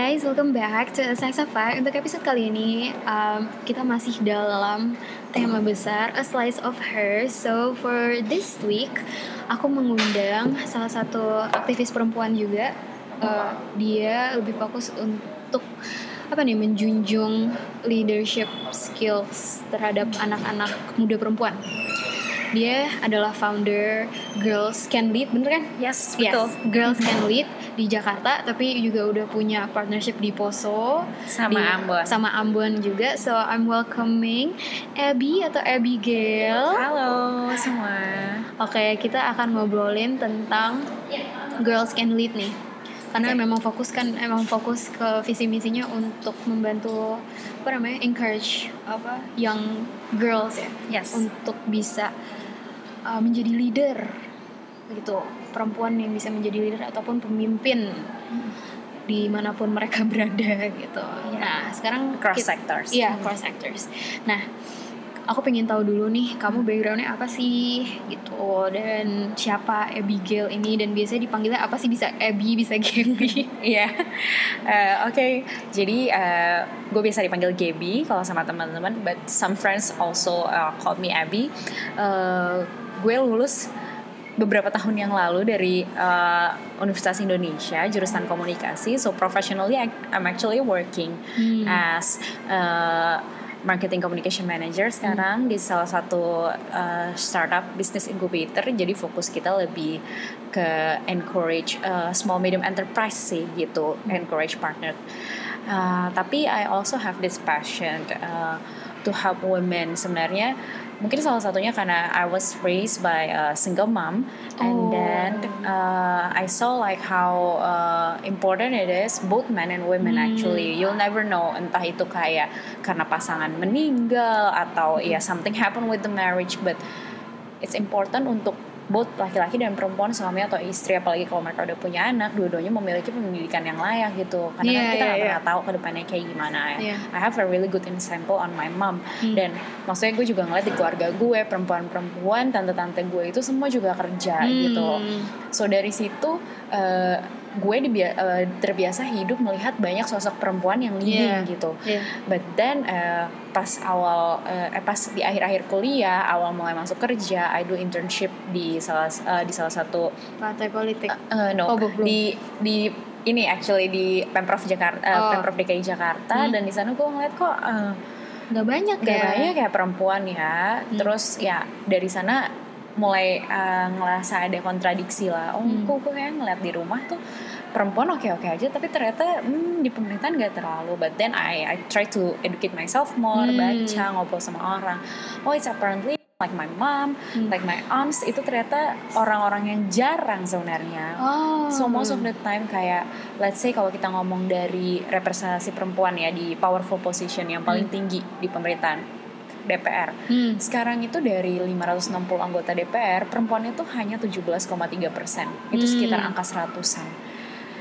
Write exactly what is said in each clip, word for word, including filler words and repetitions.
guys, welcome back to Sex Effect. Untuk episode kali ini, um, kita masih dalam tema besar A Slice of Her. So for this week, aku mengundang salah satu aktivis perempuan juga. uh, Dia lebih fokus untuk apa nih, menjunjung leadership skills terhadap anak-anak muda perempuan. Dia adalah founder Girls Can Lead, bener kan? Yes, betul. Yes, Girls Can Lead di Jakarta, tapi juga udah punya partnership di Poso sama di, Ambon. Sama Ambon juga. So I'm welcoming Abby atau Abigail. Halo semua. Oke, kita akan ngobrolin tentang Girls Can Lead nih. Karena okay. memang fokus kan emang fokus ke visi misinya untuk membantu apa namanya encourage apa young girls ya, yes. untuk bisa uh, menjadi leader gitu, perempuan yang bisa menjadi leader ataupun pemimpin hmm. dimanapun mereka berada gitu. Yeah. Nah sekarang cross kita, sectors. Iya hmm. cross sectors. Nah aku pengen tahu dulu nih, kamu backgroundnya apa sih gitu, dan siapa Abigail ini, dan biasanya dipanggilnya apa sih, bisa Abby, bisa Gaby? Iya, uh, oke. Okay. Jadi uh, gue biasa dipanggil Gaby kalau sama teman-teman, but some friends also uh, called me Abby. Uh, gue lulus beberapa tahun yang lalu dari uh, Universitas Indonesia jurusan komunikasi. So professionally I'm actually working hmm. as uh, marketing communication manager sekarang hmm. di salah satu uh, startup business incubator. Jadi fokus kita lebih ke encourage uh, small medium enterprise sih gitu, hmm. encourage partner. Uh, tapi I also have this passion uh, to help women. Sebenarnya mungkin salah satunya karena I was raised by a single mom, and oh. then uh, I saw like how uh, important it is, both men and women hmm. actually. You'll never know, entah itu kayak karena pasangan meninggal atau hmm. ya something happen with the marriage, but it's important untuk both laki-laki dan perempuan, suami atau istri, apalagi kalau mereka udah punya anak, dua-duanya memiliki pendidikan yang layak gitu. Karena yeah, kan kita yeah, gak yeah. pernah tahu ke depannya kayak gimana ya. Yeah. I have a really good example on my mom. Hmm. Dan maksudnya gue juga ngeliat di keluarga gue, perempuan-perempuan, tante-tante gue itu semua juga kerja hmm. gitu. So dari situ uh, gue dibia- uh, terbiasa hidup melihat banyak sosok perempuan yang leading yeah. gitu. Yeah. But then uh, pas awal uh, eh, pas di akhir-akhir kuliah, awal mulai masuk kerja, I do internship di salah uh, di salah satu partai politik. Uh, uh, no, oh, di di ini actually di Pemprov Jakarta, uh, oh. Pemprov D K I Jakarta, hmm. dan di sana gue ngeliat kok uh, nggak banyak nggak ya. banyak ya perempuan ya. Hmm. Terus ya dari sana mulai uh, ngerasa ada kontradiksi lah. Oh, hmm. kok gue kayak ngeliat di rumah tuh perempuan oke-oke aja, tapi ternyata hmm, di pemerintahan gak terlalu. But then I I try to educate myself more, hmm. baca, ngobrol sama orang. Oh, it's apparently like my mom, hmm. like my aunts, itu ternyata orang-orang yang jarang sebenarnya. Oh. So most of the time kayak let's say kalau kita ngomong dari representasi perempuan ya di powerful position yang paling hmm. tinggi di pemerintahan, D P R. Hmm. Sekarang itu dari lima ratus enam puluh anggota D P R, perempuan itu hanya tujuh belas koma tiga persen. Itu hmm. sekitar angka seratusan.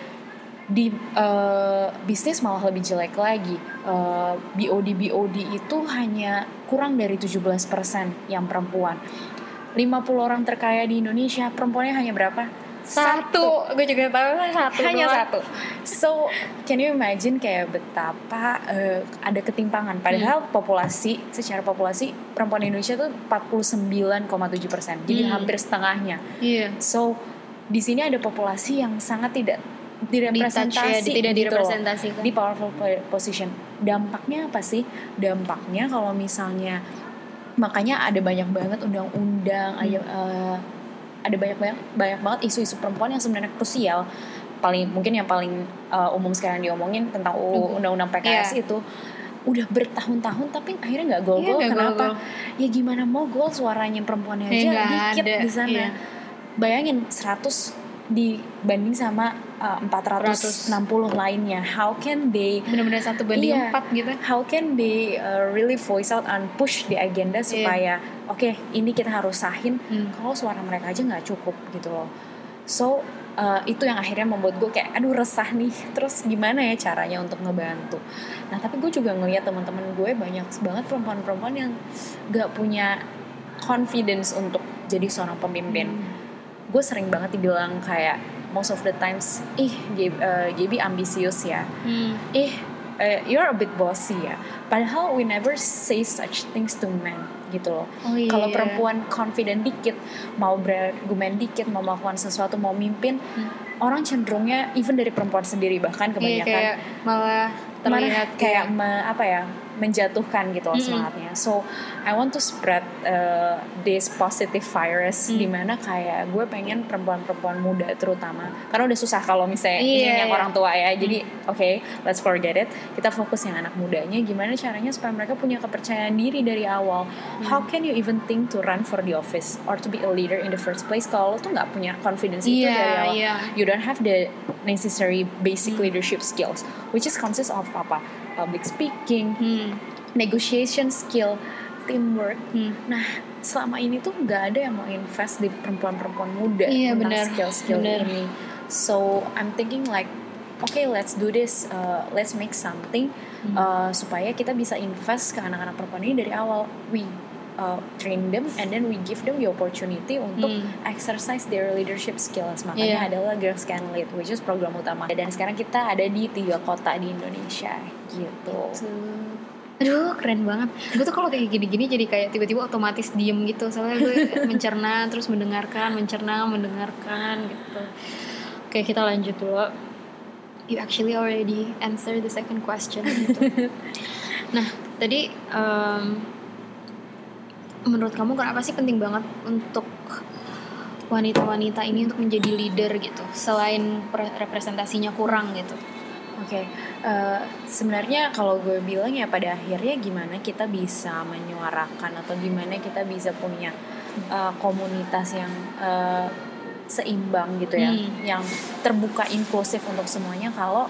Di uh, bisnis malah lebih jelek lagi. uh, B O D B O D itu hanya kurang dari tujuh belas persen yang perempuan. lima puluh orang terkaya di Indonesia, perempuannya hanya berapa? Satu. Gue juga tahu satu. Hanya doang. satu. So can you imagine kayak betapa uh, ada ketimpangan. Padahal hmm. populasi, secara populasi perempuan Indonesia tuh empat puluh sembilan koma tujuh persen. Jadi hmm. hampir setengahnya. Yeah. So di sini ada populasi yang sangat tidak direpresentasi, tidak gitu, direpresentasikan di powerful position. Dampaknya apa sih? Dampaknya kalau misalnya, makanya ada banyak banget undang-undang, hmm. ada uh, ada banyak banyak banyak banget isu-isu perempuan yang sebenarnya krusial. Paling mungkin yang paling uh, umum sekarang diomongin tentang undang-undang P K S yeah. itu udah bertahun-tahun tapi akhirnya nggak gol-gol. Yeah, kenapa? Gol-gol. Ya gimana mau gol, suaranya perempuannya aja yeah, dikit ada. Di sana. Yeah. Bayangin seratus dibanding sama uh, empat ratus enam puluh lainnya. How can they benar-benar satu banding iya, empat gitu. How can they uh, really voice out and push the agenda supaya yeah. oke, okay, ini kita harus sahin hmm. kalau suara mereka aja nggak cukup gitu loh. So uh, itu yang akhirnya membuat gue kayak aduh resah nih. Terus gimana ya caranya untuk ngebantu. Nah tapi gue juga ngelihat teman-teman gue banyak banget perempuan-perempuan yang nggak punya confidence untuk jadi seorang pemimpin. hmm. Gue sering banget dibilang kayak most of the times, ih Gaby, uh, Gaby ambisius ya, Hmm. ih uh, you're a bit bossy ya. Padahal we never say such things to men gitu loh. Oh, iya. Kalau perempuan confident dikit, mau berargumen dikit, mau melakukan sesuatu, mau mimpin, hmm. orang cenderungnya even dari perempuan sendiri bahkan kebanyakan Iya, kayak malah terlihat kayak me, apa ya menjatuhkan gitu loh Mm-mm. semangatnya. So I want to spread uh, this positive virus Mm. dimana kayak gue pengen perempuan-perempuan muda terutama, karena udah susah kalau misalnya Iya, ini yang iya. orang tua ya. Jadi oke, okay, let's forget it. Kita fokus yang anak mudanya. Gimana caranya supaya mereka punya kepercayaan diri dari awal. Mm. How can you even think to run for the office or to be a leader in the first place kalau lo tuh nggak punya confidence itu Iya, dari awal. iya. You don't have the necessary basic Hmm. leadership skills, which is consists of apa? Public speaking, Hmm. negotiation skill, teamwork. Hmm. Nah, selama ini tuh nggak ada yang mau invest di perempuan-perempuan muda Iya, tentang benar, skill-skill benar. ini. So I'm thinking like, okay, let's do this, uh, let's make something Hmm. uh, supaya kita bisa invest ke anak-anak perempuan ini dari awal. We uh, train them and then we give them the opportunity untuk Hmm. exercise their leadership skills. Makanya Iya. adalah Girls Can Lead, which is program utama. Dan sekarang kita ada di tiga kota di Indonesia gitu. Tuh. Aduh, keren banget. Gue tuh kalau kayak gini-gini jadi kayak tiba-tiba otomatis diem gitu. Soalnya gue mencerna terus mendengarkan, mencerna, mendengarkan gitu. Oke, kita lanjut dulu. You actually already answer the second question gitu. Nah, tadi um, menurut kamu kenapa sih penting banget untuk wanita-wanita ini untuk menjadi leader gitu, selain pre- representasinya kurang gitu? Oke, okay. uh, sebenarnya kalau gue bilang ya pada akhirnya gimana kita bisa menyuarakan atau gimana kita bisa punya uh, komunitas yang uh, seimbang gitu ya, Hmm. yang terbuka inklusif untuk semuanya. Kalau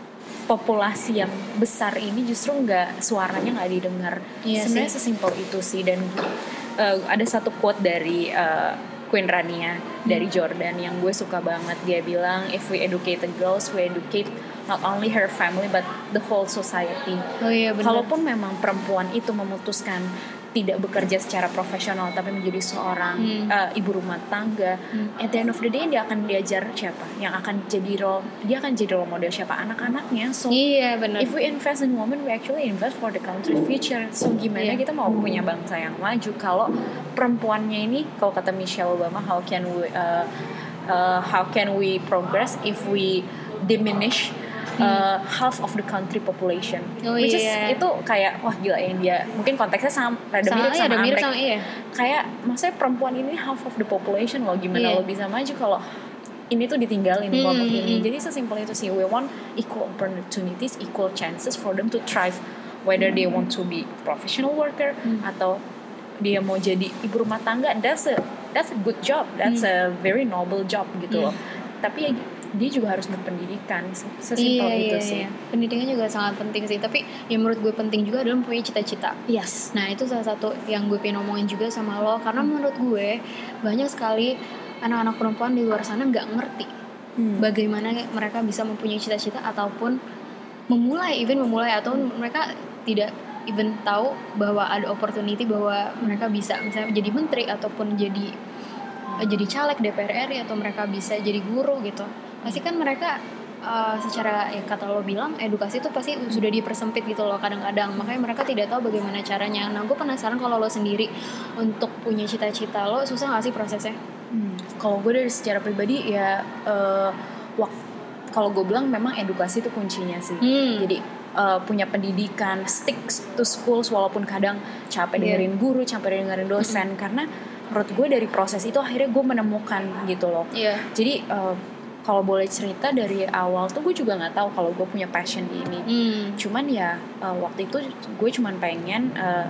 populasi yang besar ini justru nggak suaranya nggak didengar. Iya Sebenarnya sih. sesimpel itu sih. Dan uh, ada satu quote dari uh, Queen Rania dari Jordan yang gue suka banget. Dia bilang, if we educate the girls, we educate not only her family but the whole society. Oh iya benar. Kalaupun memang perempuan itu memutuskan tidak bekerja secara profesional tapi menjadi seorang Hmm. uh, ibu rumah tangga, Hmm. at the end of the day dia akan diajar siapa? Yang akan jadi role dia akan jadi role model siapa? Anak-anaknya. So Iya benar. if we invest in women, we actually invest for the country's future. So gimana Iya. kita mau punya bangsa yang maju kalau perempuannya ini, kalau kata Michelle Obama, how can we uh, uh, how can we progress if we diminish uh, half of the country population? Oh, Which iya. is itu kayak wah gila yang dia mungkin konteksnya sama rada Sama, mirip iya, sama ada mirip Amerika. sama iya. Kayak maksudnya perempuan ini half of the population loh, gimana Iya. lo bisa maju kalau ini tuh ditinggalin Hmm, kelompok hmm, ini. hmm. Jadi sesimpel itu sih. We want equal opportunities, equal chances for them to thrive, whether they want to be professional worker Hmm. atau dia mau jadi ibu rumah tangga. That's a that's a good job, that's a very noble job gitu loh. Tapi ya dia juga harus berpendidikan. Sesimpel Iya, itu iya, sih. iya. Pendidikan juga sangat penting sih. Tapi yang menurut gue penting juga adalah mempunyai cita-cita. Yes. Nah itu salah satu yang gue pengen ngomongin juga sama lo. Karena menurut gue banyak sekali anak-anak perempuan di luar sana nggak ngerti Hmm. bagaimana mereka bisa mempunyai cita-cita ataupun memulai, even memulai atau mereka tidak even tahu bahwa ada opportunity bahwa mereka bisa misalnya jadi menteri ataupun jadi eh, jadi caleg D P R R I atau mereka bisa jadi guru gitu. Pasti kan mereka uh, secara ya kata lo bilang edukasi itu pasti sudah dipersempit gitu loh kadang-kadang, makanya mereka tidak tahu bagaimana caranya. Nah gue penasaran kalau lo sendiri untuk punya cita-cita lo susah nggak sih prosesnya? Hmm. Kalau gue dari secara pribadi ya uh, wak- kalau gue bilang memang edukasi itu kuncinya sih. Hmm. Jadi uh, punya pendidikan, stick to schools walaupun kadang capek Yeah. dengerin guru, capek dengerin dosen. Mm-hmm. Karena menurut gue dari proses itu akhirnya gue menemukan gitu loh. Iya. Jadi uh, kalau boleh cerita dari awal tuh gue juga nggak tahu kalau gue punya passion di ini. Hmm. Cuman ya uh, waktu itu gue cuman pengen uh,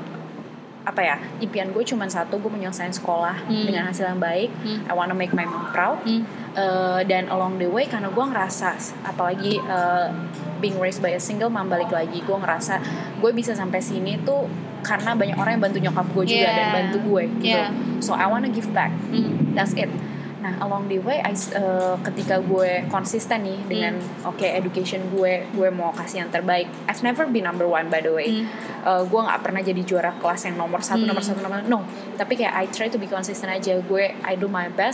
apa ya, impian gue cuman satu, gue menyelesaikan sekolah Hmm. dengan hasil yang baik. Hmm. I wanna make my mom proud. Hmm. Uh, dan along the way karena gue ngerasa apalagi uh, being raised by a single mom, balik lagi gue ngerasa gue bisa sampai sini tuh karena banyak orang yang bantu nyokap gue juga Yeah. dan bantu gue gitu. Yeah. So I wanna give back. Hmm. That's it. Nah along the way I, uh, ketika gue konsisten nih dengan Hmm. oke okay, education gue, gue mau kasih yang terbaik. I've never been number one by the way. Hmm. Uh, gue nggak pernah jadi juara kelas yang nomor satu, Hmm. nomor satu, nomor no. Tapi kayak I try to be consistent aja. Gue I do my best.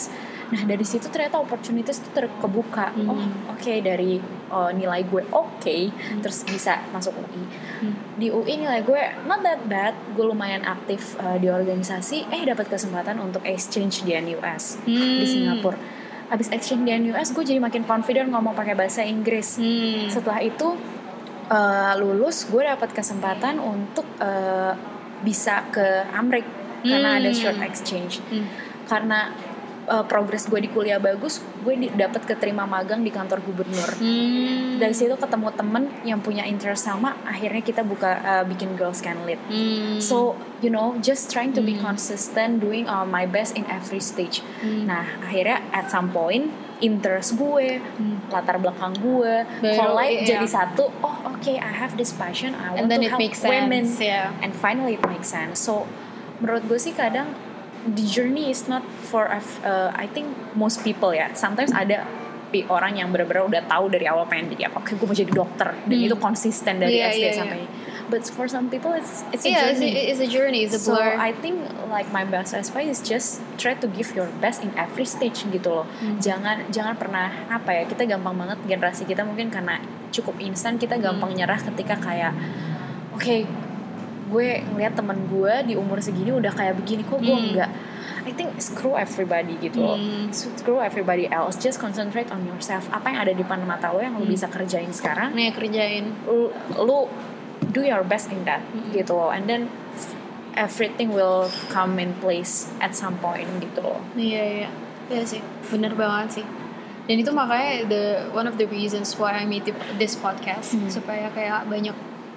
Nah dari situ ternyata opportunities itu terkebuka. Hmm. Oh oke okay, dari uh, nilai gue oke okay, hmm. terus bisa masuk U I. Hmm. Di U I nilai gue not that bad, gue lumayan aktif uh, di organisasi. Eh dapat kesempatan untuk exchange di N U S hmm. di Singapura. Abis exchange di N U S gue jadi makin confident ngomong pakai bahasa Inggris. Hmm. Setelah itu uh, lulus gue dapat kesempatan untuk uh, bisa ke Amerika hmm. karena ada short exchange. Hmm. Karena uh, progres gue di kuliah bagus, gue dapat keterima magang di kantor gubernur. Hmm. Dari situ ketemu temen yang punya interest sama, akhirnya kita buka uh, bikin Girls Can Lead. Hmm. So you know, just trying to hmm. be consistent, doing uh, my best in every stage. Hmm. Nah akhirnya at some point interest gue, hmm. latar belakang gue, collide yeah. jadi satu. Oh oke, okay, I have this passion, I want and then to it help makes women, sense. Yeah. and finally it makes sense. So menurut gue sih kadang the journey is not for uh, I think most people ya. Sometimes ada orang yang benar-benar udah tahu dari awal pengen jadi apa. Oke, gue mau jadi dokter dan hmm. itu konsisten dari yeah, S D yeah, sampai. Yeah. But for some people it's it's a yeah, journey. It's a, it's a journey. It's a blur. So I think like my best advice is just try to give your best in every stage gitu loh. Hmm. Jangan jangan pernah apa ya, kita gampang banget generasi kita mungkin karena cukup instan kita gampang hmm. nyerah ketika kayak oke okay, gue ngeliat teman gue di umur segini udah kayak begini kok gue hmm. enggak. I think screw everybody gitu loh. Hmm. Screw everybody else. Just concentrate on yourself. Apa yang ada di depan mata lo yang lo hmm. bisa kerjain sekarang. Nih kerjain. Lo, lo do your best in that hmm. gitu loh. And then everything will come in place at some point gitu loh. Iya iya. Iya sih. Bener banget sih. Dan itu makanya the one of the reasons why I made this podcast hmm. supaya kayak banyak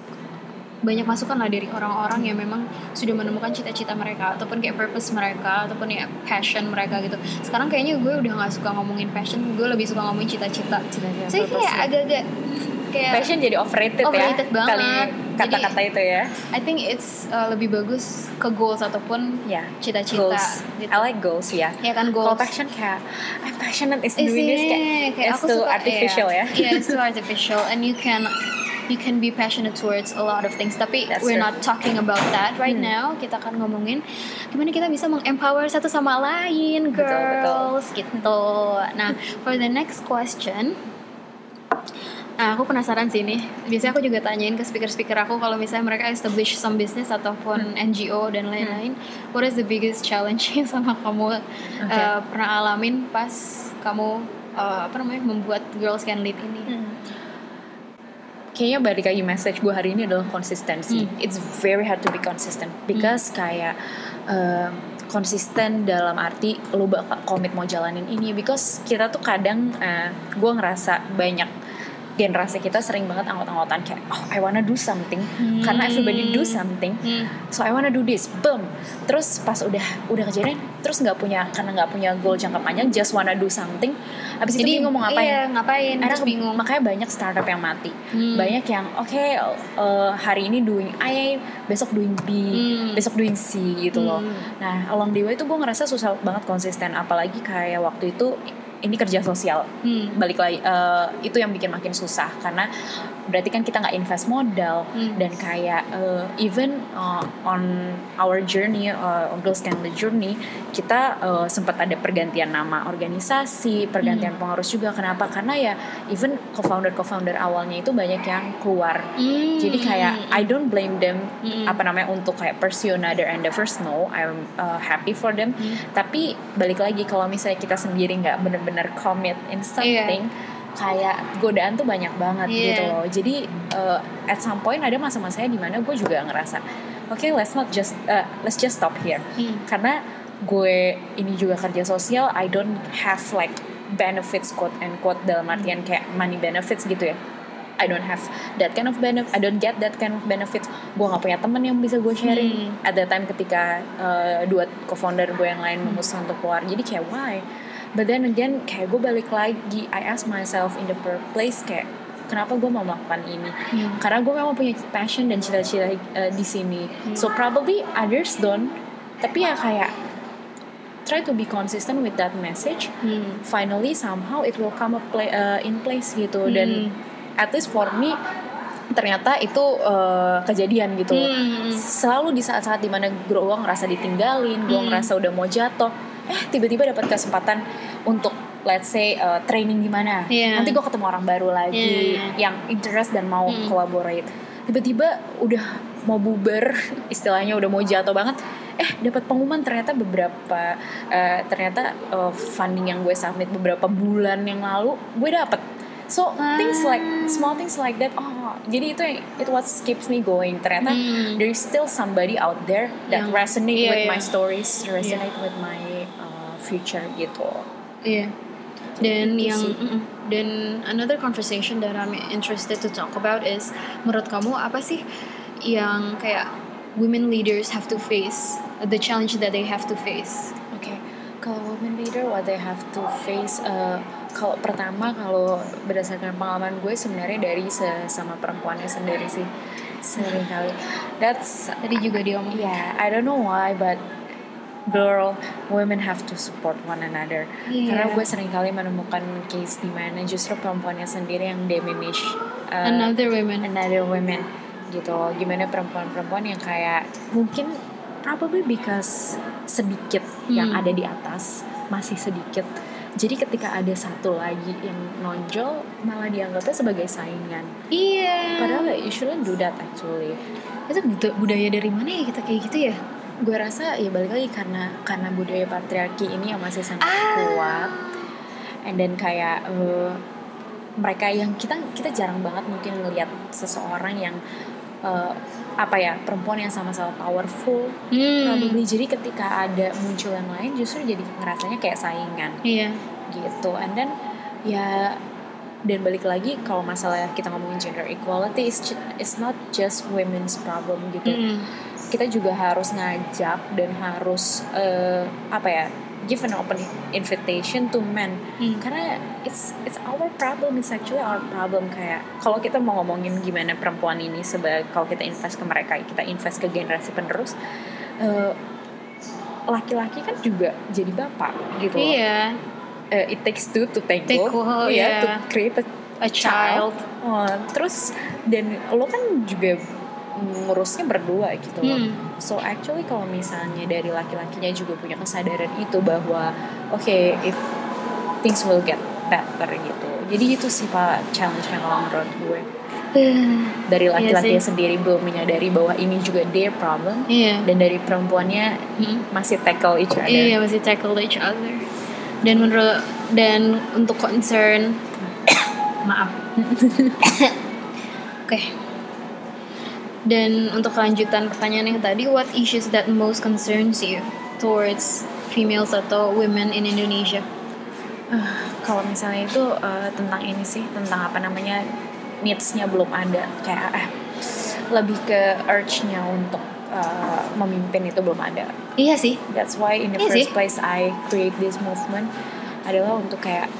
banyak masukan lah dari orang-orang yang memang sudah menemukan cita-cita mereka ataupun kayak purpose mereka ataupun ya passion mereka gitu. Sekarang kayaknya gue udah nggak suka ngomongin passion, gue lebih suka ngomongin cita-cita. Cita-cita. Jadi kayak agak-agak kayak passion jadi overrated, overrated ya. Banget. Kali kata-kata jadi, itu ya. I think it's uh, lebih bagus ke goals ataupun yeah, cita-cita. Goals. Gitu. I like goals ya. Ya kan goals. Kalau passion kayak I'm passionate is doing this kayak, kayak it's too artificial ya. Yeah, it's too artificial and you can you can be passionate towards a lot of things. Tapi That's we're true. Not talking about that right hmm. now. Kita akan ngomongin gimana kita bisa mengempower satu sama lain, girls, betul, betul. Gitu. Nah, for the next question, nah aku penasaran sih nih. Biasanya aku juga tanyain ke speaker-speaker aku kalau misalnya mereka establish some business ataupun hmm. N G O dan lain-lain, hmm. what is the biggest challenge yang sama kamu okay. uh, pernah alamin pas kamu uh, apa namanya membuat Girls Can Lead ini? Hmm. Kayaknya balik lagi message gue hari ini adalah konsistensi. Hmm. It's very hard to be consistent because hmm. kayak uh, konsisten dalam arti lo bakal komit mau jalanin ini. Because kita tuh kadang uh, gue ngerasa banyak generasi kita sering banget anggot-anggotan kayak oh I wanna do something hmm. karena everybody do something hmm. so I wanna do this, boom. Terus pas udah udah kejadian terus nggak punya karena nggak punya goal jangka panjang, just wanna do something. Abis jadi, itu bingung mau ngapain? Iya, ngapain? Terus bingung. Makanya banyak startup yang mati. Hmm. Banyak yang oke okay, uh, hari ini doing A, besok doing B, hmm. besok doing C gitu hmm. loh. Nah along the way itu gue ngerasa susah banget konsisten. Apalagi kayak waktu itu ini kerja sosial, hmm. balik lagi uh, itu yang bikin makin susah karena berarti kan kita nggak invest modal hmm. dan kayak uh, even uh, on our journey uh, on Girls Can Lead journey kita uh, sempat ada pergantian nama organisasi, pergantian hmm. pengurus juga. Kenapa? Karena ya even co-founder co-founder awalnya itu banyak yang keluar, hmm. jadi kayak I don't blame them hmm. apa namanya untuk kayak pursue another endeavors. No, I'm uh, happy for them. Hmm. Tapi balik lagi kalau misalnya kita sendiri nggak benar-benar commit in something, yeah. kayak godaan tuh banyak banget yeah. gitu loh. Jadi uh, at some point ada masa-masanya di mana gue juga ngerasa, oke okay, let's not just uh, let's just stop here. Hmm. Karena gue ini juga kerja sosial, I don't have like benefits quote and quote dalam artian kayak money benefits gitu ya. I don't have that kind of benefit. I don't get that kind of benefits. Gue nggak punya teman yang bisa gue sharing. Hmm. At that time ketika uh, dua co-founder gue yang lain memutuskan untuk keluar. Jadi kayak why? But then again kayak gue balik lagi. I ask myself in the first place kayak kenapa gue mau melakukan ini? Hmm. Karena gue memang punya passion dan cita-cita uh, di sini. Hmm. So probably others don't. Tapi ya kayak try to be consistent with that message. Hmm. Finally somehow it will come up play, uh, in place gitu. Hmm. Dan at least for me ternyata itu uh, kejadian gitu. Hmm. Selalu di saat-saat dimana gue ngerasa ditinggalin, gue hmm. ngerasa udah mau jatuh, eh tiba-tiba dapat kesempatan untuk let's say uh, training di mana, yeah. nanti gue ketemu orang baru lagi yeah. yang interest dan mau hmm. collaborate, tiba-tiba udah mau bubar istilahnya, udah mau jatuh banget, eh dapat pengumuman ternyata beberapa uh, ternyata uh, funding yang gue submit beberapa bulan yang lalu gue dapet. So ah. things like small things like that, oh jadi itu it what keeps me going. Ternyata hmm. there is still somebody out there that yang, resonate yeah, with yeah. my stories, resonate yeah. with my uh, future gitu. Iya. Yeah. Dan gitu yang mm, dan another conversation that I'm interested to talk about is, menurut kamu apa sih yang kayak women leaders have to face, the challenge that they have to face? Oke, okay. Kalau women leader what they have to face, uh, kalau pertama kalau berdasarkan pengalaman gue sebenarnya dari sesama perempuannya sendiri sih sering kali. That's tadi juga dia ngomong. Yeah, I don't know why but girl, women have to support one another. Yeah. Karena gue sering kali menemukan case di mana justru perempuannya sendiri yang diminish uh, another women, another women gitu. Gimana perempuan-perempuan yang kayak mungkin probably because sedikit hmm. yang ada di atas, masih sedikit. Jadi ketika ada satu lagi yang nonjol malah dianggapnya sebagai saingan. Iya. Yeah. Padahal you shouldn't do that actually. Itu budaya dari mana ya kita kayak gitu ya? Gue rasa ya balik lagi karena karena budaya patriarki ini yang masih sangat ah. kuat, and then kayak uh, mereka yang kita kita jarang banget mungkin ngelihat seseorang yang uh, apa ya perempuan yang sama-sama powerful, hmm. probably. Jadi ketika ada muncul yang lain justru jadi ngerasanya kayak saingan, iya. gitu. And then ya dan balik lagi kalau masalah kita ngomongin gender equality, it's, it's not just women's problem gitu. Hmm. Kita juga harus ngajak dan harus uh, apa ya give an open invitation to men, hmm. karena it's it's our problem, it's actually our problem. Kayak kalau kita mau ngomongin gimana perempuan ini sebagai, kalau kita invest ke mereka, kita invest ke generasi penerus, uh, laki-laki kan juga jadi bapak gitu. Iya. Uh, it takes two to tango, Take well, ya, yeah. to create a, a child. Oh, terus dan lo kan juga ngurusnya berdua gitu loh. Hmm. So actually kalau misalnya dari laki-lakinya juga punya kesadaran itu bahwa oke, okay, if things will get better gitu. Jadi itu sih Pak challenge-nya kalau menurut gue. Dari laki-lakinya yeah, sendiri belum menyadari bahwa ini juga their problem, yeah. dan dari perempuannya hmm. masih tackle each other. Iya, yeah, masih tackle each other. Dan menurut dan untuk concern maaf. Oke. Okay. Dan untuk kelanjutan pertanyaan yang tadi, what issues that most concerns you towards females atau women in Indonesia? Uh, kalau misalnya itu uh, tentang ini sih, tentang apa namanya needs-nya belum ada, kayak eh lebih ke urge-nya untuk uh, memimpin itu belum ada. Iya sih. That's why in the iya first sih. place I create this movement adalah untuk kayak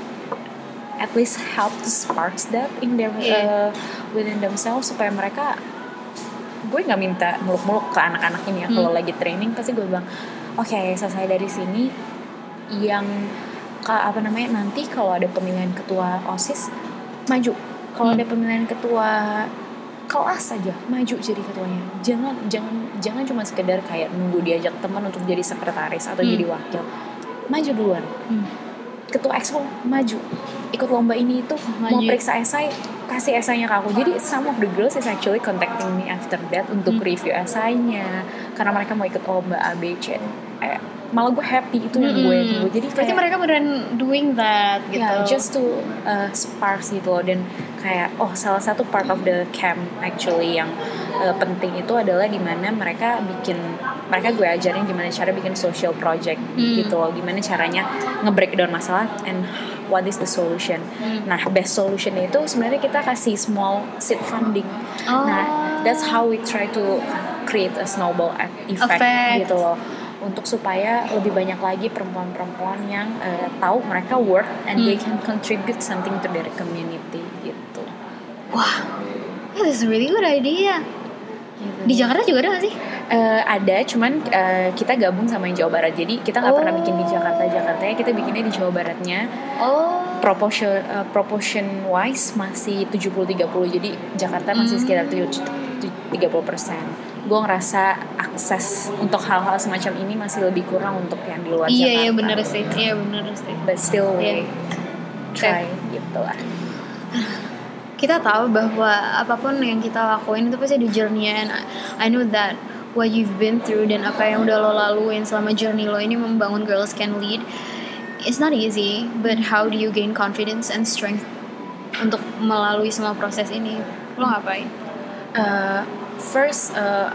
at least help to sparks that in their yeah. uh, within themselves, supaya mereka, gue nggak minta muluk-muluk ke anak-anak ini ya, hmm. kalau lagi training pasti gue bilang oke okay, selesai dari sini yang ke, apa namanya nanti kalau ada pemilihan ketua OSIS maju, kalau hmm. ada pemilihan ketua kelas saja maju jadi ketuanya, jangan jangan jangan cuma sekedar kayak nunggu diajak teman untuk jadi sekretaris atau hmm. jadi wakil, maju duluan. hmm. Ketua expo maju, ikut lomba ini itu, maju. Mau periksa esai kasih esainya ke aku. Jadi some of the girls is actually contacting me after that untuk hmm. review esainya karena mereka mau ikut lomba A B C. Eh, malah gue happy itu yang gue tunggu. Jadi berarti mereka beneran doing that gitu. Yeah, just to uh, sparks gitu loh. Dan kayak oh salah satu part of the camp actually yang uh, penting itu adalah dimana mereka bikin, mereka gue ajarin gimana cara bikin social project hmm. gitu loh, gimana caranya nge-breakdown masalah and what is the solution. Hmm. Nah, best solution itu sebenarnya kita kasih small seed funding. Oh. Nah, that's how we try to create a snowball effect, effect. gitu loh. Untuk supaya lebih banyak lagi perempuan-perempuan yang uh, tahu mereka work and hmm. they can contribute something to their community gitu. Wah, that's a really good idea. Gitu. Di Jakarta juga ada gak sih? Uh, ada, cuman uh, kita gabung sama yang Jawa Barat. Jadi kita nggak oh. pernah bikin di Jakarta Jakarta ya, kita bikinnya di Jawa Baratnya. Oh. Proportion uh, proportion wise masih tujuh puluh tiga puluh. Jadi Jakarta masih hmm. sekitar tiga puluh persen. Gue ngerasa akses untuk hal-hal semacam ini masih lebih kurang untuk yang di luar Iya Jakarta. iya benar sih, iya benar sih. But still we Iya. try gitu lah. Kita tahu bahwa apapun yang kita lakuin itu pasti ada journey-nya, and I know that what you've been through dan apa yang udah lo laluin selama journey lo ini membangun Girls Can Lead, it's not easy, but how do you gain confidence and strength untuk melalui semua proses ini? Lo ngapain? Uh, first, uh,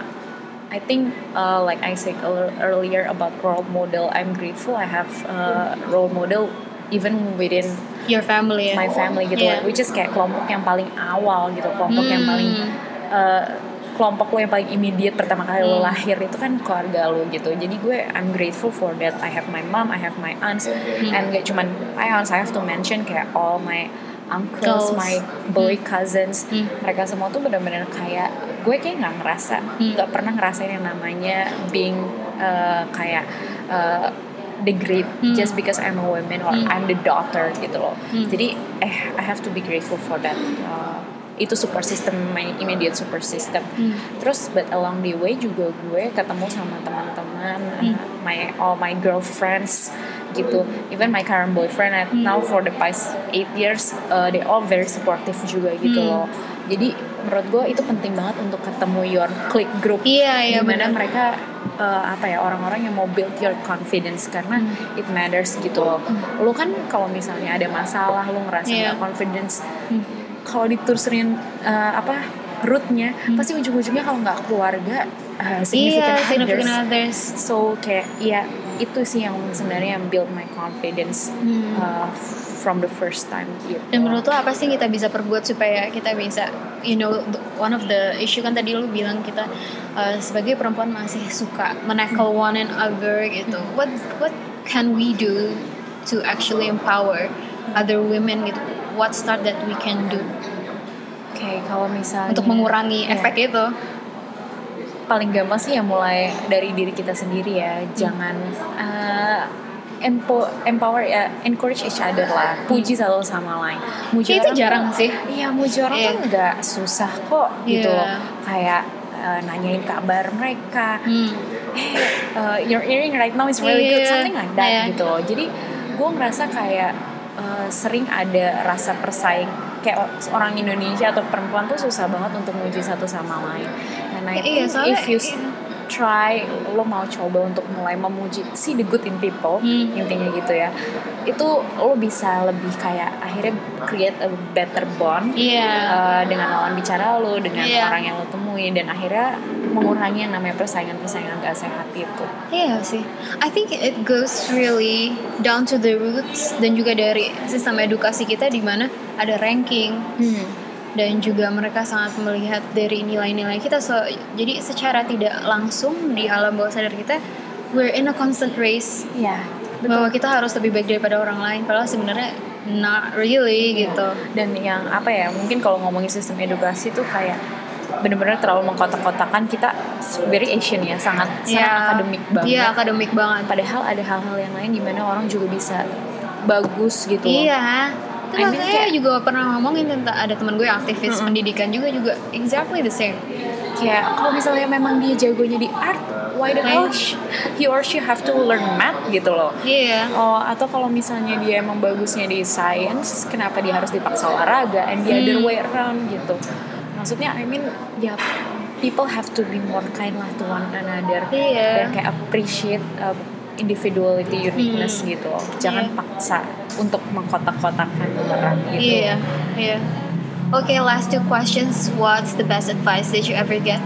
I think uh, like I said earlier about role model, I'm grateful I have uh, role model even within Your family ya? my family gitu, Yeah. which is kayak kelompok yang paling awal gitu, kelompok yang Hmm. paling uh, kelompok lo yang paling immediate pertama kali lo Hmm. lahir itu kan keluarga lo gitu. Jadi gue I'm grateful for that. I have my mom, I have my aunts, Hmm. and gak cuman my aunts, I have to mention kayak all my uncles, Girls. my boy cousins, Hmm. mereka semua tuh benar-benar kayak gue kayak nggak ngerasa, Hmm. nggak pernah ngerasain yang namanya being uh, kayak uh, degrade Hmm. just because I'm a woman or Hmm. I'm the daughter gitu loh. Hmm. Jadi eh I have to be grateful for that. Uh, itu support system, my immediate support system. Hmm. Terus but along the way juga gue ketemu sama teman-teman, Hmm. uh, my all my girlfriends gitu, even my current boyfriend and Hmm. now for the past eight years uh, they all very supportive juga gitu Hmm. loh. Jadi menurut gue itu penting banget untuk ketemu your click group, Iya iya dimana benar. mereka uh, apa ya orang-orang yang mau build your confidence karena Hmm. it matters gitu loh. Lu kan kalau misalnya ada masalah lu ngerasa Iya. nggak confidence, Hmm. kalau diterusin uh, apa rootnya Hmm. pasti ujung-ujungnya kalau nggak keluarga uh, Iya, significant others. significant others. So kayak ya itu sih yang sebenarnya yang build my confidence Hmm. uh, from the first time gitu. Dan menurut lo apa sih yang kita bisa perbuat supaya kita bisa, you know, one of the issue kan tadi lo bilang kita uh, sebagai perempuan masih suka menackle one another gitu. What what can we do to actually empower other women gitu? What start that we can do Oke, okay, kalau misalnya untuk mengurangi ya, efek itu? paling gampang sih ya mulai dari diri kita sendiri ya. Jangan uh, empo- empower ya, encourage each other lah. Puji satu sama lain. Muji Itu orang jarang tuh- sih. Iya, muji orang Iya. tuh nggak susah kok gitu. Iya. Kayak uh, nanyain kabar mereka. Hmm. Hey, uh, your earring right now is really good, Iya. something like that Iya. gitu loh. Jadi gue ngerasa kayak uh, sering ada rasa persaing, kayak orang Indonesia atau perempuan tuh susah banget untuk muji satu sama lain. And I Iya, think soalnya- if you s- try, lo mau coba untuk mulai memuji, see the good in people, Hmm. intinya gitu ya, itu lo bisa lebih kayak akhirnya create a better bond Iya. uh, dengan lawan bicara lo, dengan Iya. orang yang lo temui, dan akhirnya mengurangi yang namanya persaingan-persaingan gak sehat itu. Iya sih, I think it goes really down to the roots dan juga dari sistem edukasi kita di mana ada ranking dan juga mereka sangat melihat dari nilai-nilai kita. So, jadi secara tidak langsung di alam bawah sadar kita, we're in a constant race Iya, bahwa kita harus lebih baik daripada orang lain. Padahal sebenarnya not really gitu. Dan yang apa ya, mungkin kalau ngomongin sistem edukasi tuh kayak benar-benar terlalu mengkotak-kotakan kita, very Asian ya, sangat sangat Iya. akademik banget. Iya akademik banget. Padahal ada hal-hal yang lain di mana orang juga bisa bagus gitu loh. Iya. Itu I mean, makanya kayak- juga pernah ngomongin tentang ada teman gue aktivis Mm-mm. pendidikan juga juga exactly the same. Kayak kalau misalnya memang dia jagonya di art, why the hell sh- he or she have to learn math gitu loh. Iya. Oh, atau kalau misalnya dia emang bagusnya di science, kenapa dia harus dipaksa olahraga, and the other Hmm. way around gitu. Maksudnya I mean ya, people have to be more kind lah to one another. Iya. Dan kayak appreciate uh, individuality, uniqueness Hmm. gitu. Jangan Iya. paksa untuk mengkotak-kotakan orang gitu. Iya, iya. Okay, last two questions. What's the best advice that you ever get?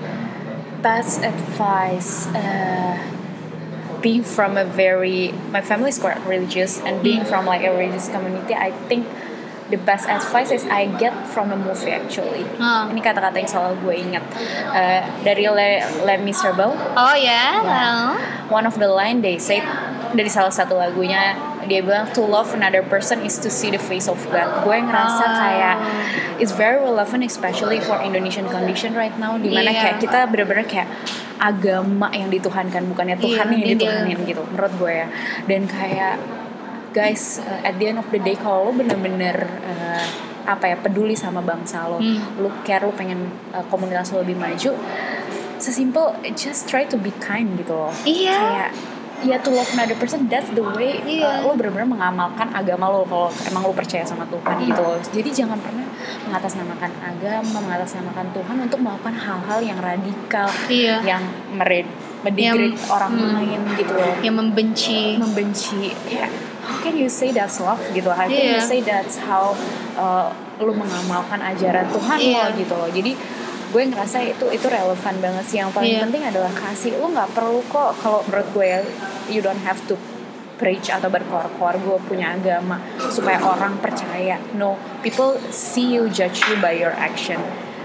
Best advice, uh, being from a very, my family is quite religious, and being from like a religious community, I think the best advice is I get from a movie actually. Ah. Ini kata-kata yang selalu gue ingat uh, dari Le, Les Miserables. Oh ya, Yeah. well. One of the line they said dari salah satu lagunya, dia bilang to love another person is to see the face of God. Gue ngerasa Oh. kayak it's very relevant especially for Indonesian condition right now, dimana Iya. kayak kita bener-bener kayak agama yang dituhankan, bukannya Tuhan Iya, yang iya. dituhanin gitu menurut gue ya. Dan kayak guys, uh, at the end of the day kalau lo bener-bener uh, apa ya peduli sama bangsa lo, Hmm. lo care, lo pengen uh, komunitas lo lebih maju, sesimpel just try to be kind gitu loh. Iya. Kayak ya to love another person, that's the way. Iya. uh, lo benar-benar mengamalkan agama lo kalau emang lo percaya sama Tuhan Hmm. gitu loh. Jadi jangan pernah mengatasnamakan agama, mengatasnamakan Tuhan untuk melakukan hal-hal yang radikal, Iya. yang mered mendegrade Yang- orang hmm. lain gitu loh, Yang membenci. membenci. Kayak how can you say that's love gitu? How can Iya. you say that's how uh, lo mengamalkan ajaran Tuhan Iya. lo gitu loh. Jadi gue ngerasa itu itu relevan banget sih. Yang paling Iya. penting adalah kasih. Lo nggak perlu kok, kalau menurut gue ya, you don't have to preach atau berkoar-koar gue punya agama supaya orang percaya. No, people see you, judge you by your action.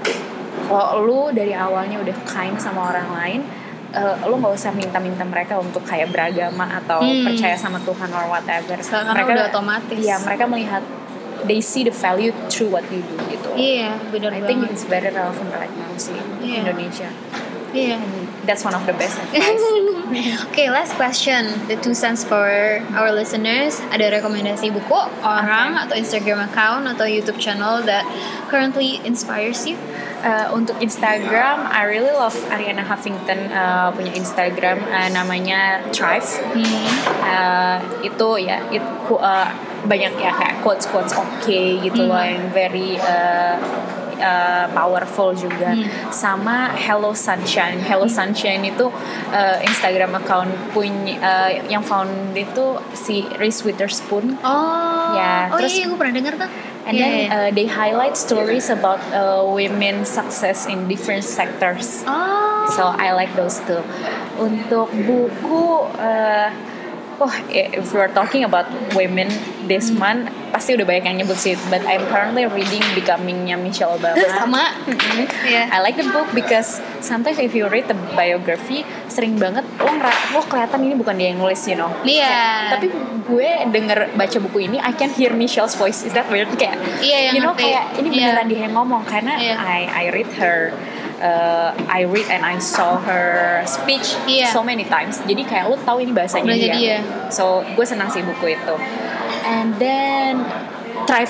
Kalau lu dari awalnya udah kind sama orang lain, uh, lu nggak usah minta-minta mereka untuk kayak beragama atau Hmm. percaya sama Tuhan or whatever. Karena mereka udah otomatis. Iya, mereka melihat, they see the value through what you do gitu. Iya, benar I banget. think it's very relevant right now sih Iya. Indonesia. Iya. And that's one of the best advice. Okay, last question. The two cents for our listeners. Ada rekomendasi buku, orang, Okay. atau Instagram account, atau YouTube channel that currently inspires you? Uh, untuk Instagram, I really love Ariana Huffington uh, punya Instagram uh, namanya Thrive. Hmm. Uh, itu ya, it, uh, banyak ya kayak quotes quotes oke gitu loh, Hmm. yang very uh, uh, powerful juga. Hmm. Sama Hello Sunshine. Hello Sunshine itu uh, Instagram account punya uh, yang found itu si Reese Witherspoon. Oh, Ya, oh terus- iya, gue pernah dengar tuh. And Iya, then iya. uh, they highlight stories about uh, women success in different sectors. Oh, So I like those too. Untuk buku, uh, oh if we're talking about women this Hmm. month, pasti udah banyak yang nyebut sih. But I'm currently reading Becoming-nya Michelle Obama. sama. Mhm. Iya. I like the book because sometimes if you read the biography, sering banget lo ngera- lo kelihatan ini bukan dia yang nulis, you know. Iya. Kayak, tapi gue denger baca buku ini, I can hear Michelle's voice. Is that weird? Kayak, Iya, yang you know, ngerti. kayak ini Iya. beneran dia yang ngomong karena Iya. I I read her. Uh, I read and I saw her speech Iya. so many times. Jadi kayak lo tahu ini bahasanya Bahasa dia. dia. So gue senang sih buku itu. And then Thrive.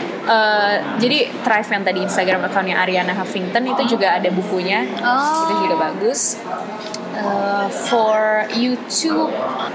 Uh, jadi Thrive yang tadi Instagram account-nya Ariana Huffington itu juga ada bukunya. Oh. Itu juga bagus. Uh, for YouTube,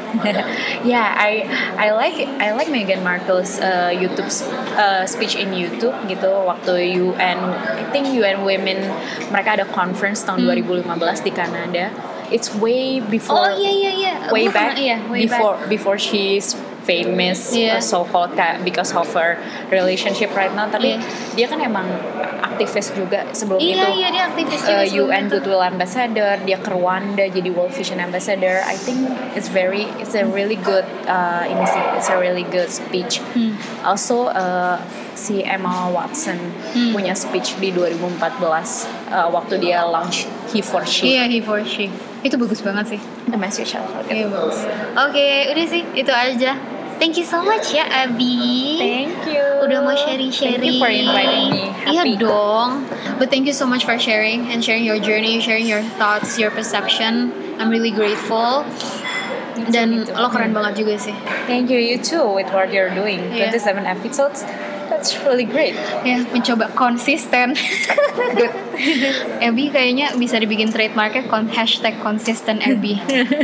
yeah, I I like I like Meghan Markle's uh, YouTube uh, speech in YouTube gitu. Waktu U N, I think U N Women, mereka ada conference tahun dua ribu lima belas di Kanada. It's way before, Oh iya iya iya. way Gua back, pernah- iya, way before back. before she's famous, Iya. uh, so called because of her relationship right now. Tapi Iya. dia kan emang aktivis juga sebelum Iya itu. iya dia aktivis juga Uh, sebelum U N itu. Goodwill Ambassador, dia ke Rwanda jadi World Vision Ambassador. I think it's very, it's a really good, uh, ini sih, it's a really good speech. Hmm. Also, uh, si Emma Watson Hmm. punya speech di dua ribu empat belas uh, waktu dia launch He for She. Iya, he for she. Itu bagus banget sih. The message I forget. Iya bagus. Oke, udah sih itu aja. Thank you so much ya Abi. Thank you. Udah mau sharing-sharing. Thank you for inviting me. Iya Happy. dong. But thank you so much for sharing and sharing your journey, sharing your thoughts, your perception. I'm really grateful. Me too, Dan me too. lo keren banget juga sih. Thank you, you too, with what you're doing. Iya. twenty-seven episodes. That's really great. Ya, mencoba konsisten. Good. Abby kayaknya bisa dibikin trademarknya kon hashtag konsisten Abby.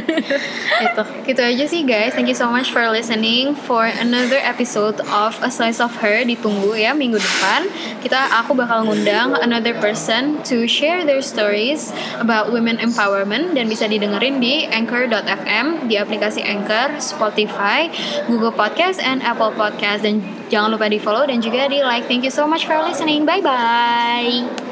Itu, gitu aja sih guys. Thank you so much for listening for another episode of A Slice of Her. Ditunggu ya minggu depan. Kita, aku bakal ngundang another person to share their stories about women empowerment dan bisa didengerin di anchor dot f m, di aplikasi Anchor, Spotify, Google Podcast, and Apple Podcast. Dan jangan lupa di follow dan juga di like. Thank you so much for listening. Bye bye.